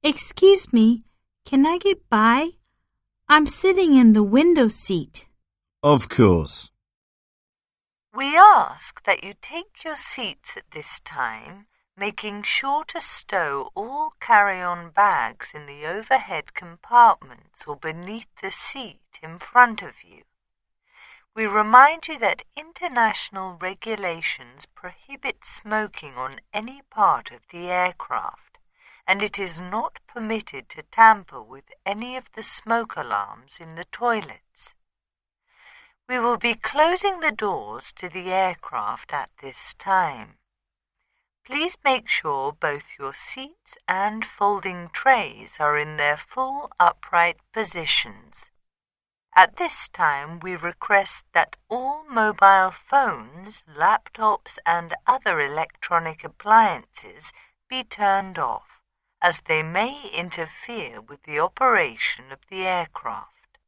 Excuse me, can I get by? I'm sitting in the window seat. Of course. We ask that you take your seats at this time, making sure to stow all carry-on bags in the overhead compartments or beneath the seat in front of you. We remind you that international regulations prohibit smoking on any part of the aircraft, and it is not permitted to tamper with any of the smoke alarms in the toilets. We will be closing the doors to the aircraft at this time. Please make sure both your seats and folding trays are in their full upright positions. At this time, we request that all mobile phones, laptops, and other electronic appliances be turned off, as they may interfere with the operation of the aircraft.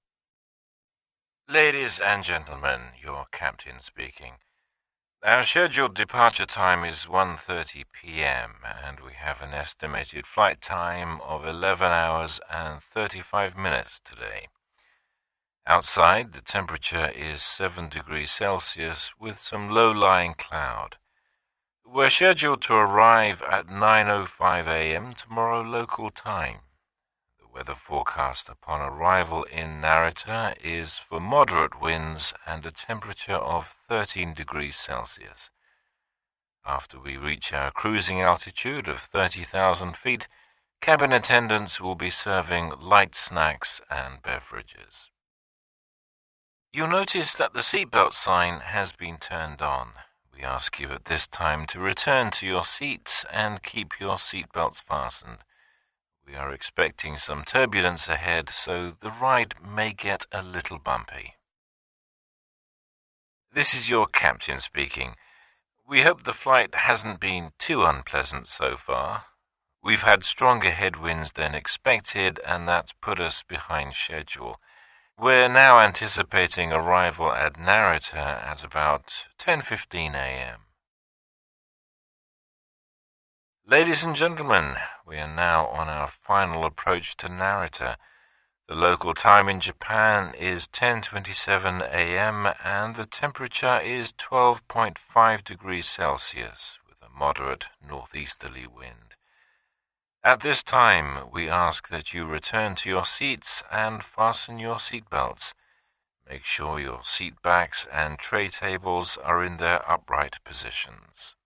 Ladies and gentlemen, your captain speaking. Our scheduled departure time is 1:30 p.m. and we have an estimated flight time of 11 hours and 35 minutes today. Outside, the temperature is 7 degrees Celsius with some low-lying cloud. We're scheduled to arrive at 9:05 a.m. tomorrow local time. The weather forecast upon arrival in Narita is for moderate winds and a temperature of 13 degrees Celsius. After we reach our cruising altitude of 30,000 feet, cabin attendants will be serving light snacks and beverages. You'll notice that the seatbelt sign has been turned on. We ask you at this time to return to your seats and keep your seatbelts fastened. We are expecting some turbulence ahead, so the ride may get a little bumpy. This is your captain speaking. We hope the flight hasn't been too unpleasant so far. We've had stronger headwinds than expected, and that's put us behind schedule. We're now anticipating arrival at Narita at about 10:15 a.m. Ladies and gentlemen, we are now on our final approach to Narita. The local time in Japan is 10:27 a.m. and the temperature is 12.5 degrees Celsius with a moderate northeasterly wind. At this time, we ask that you return to your seats and fasten your seatbelts. Make sure your seat backs and tray tables are in their upright positions.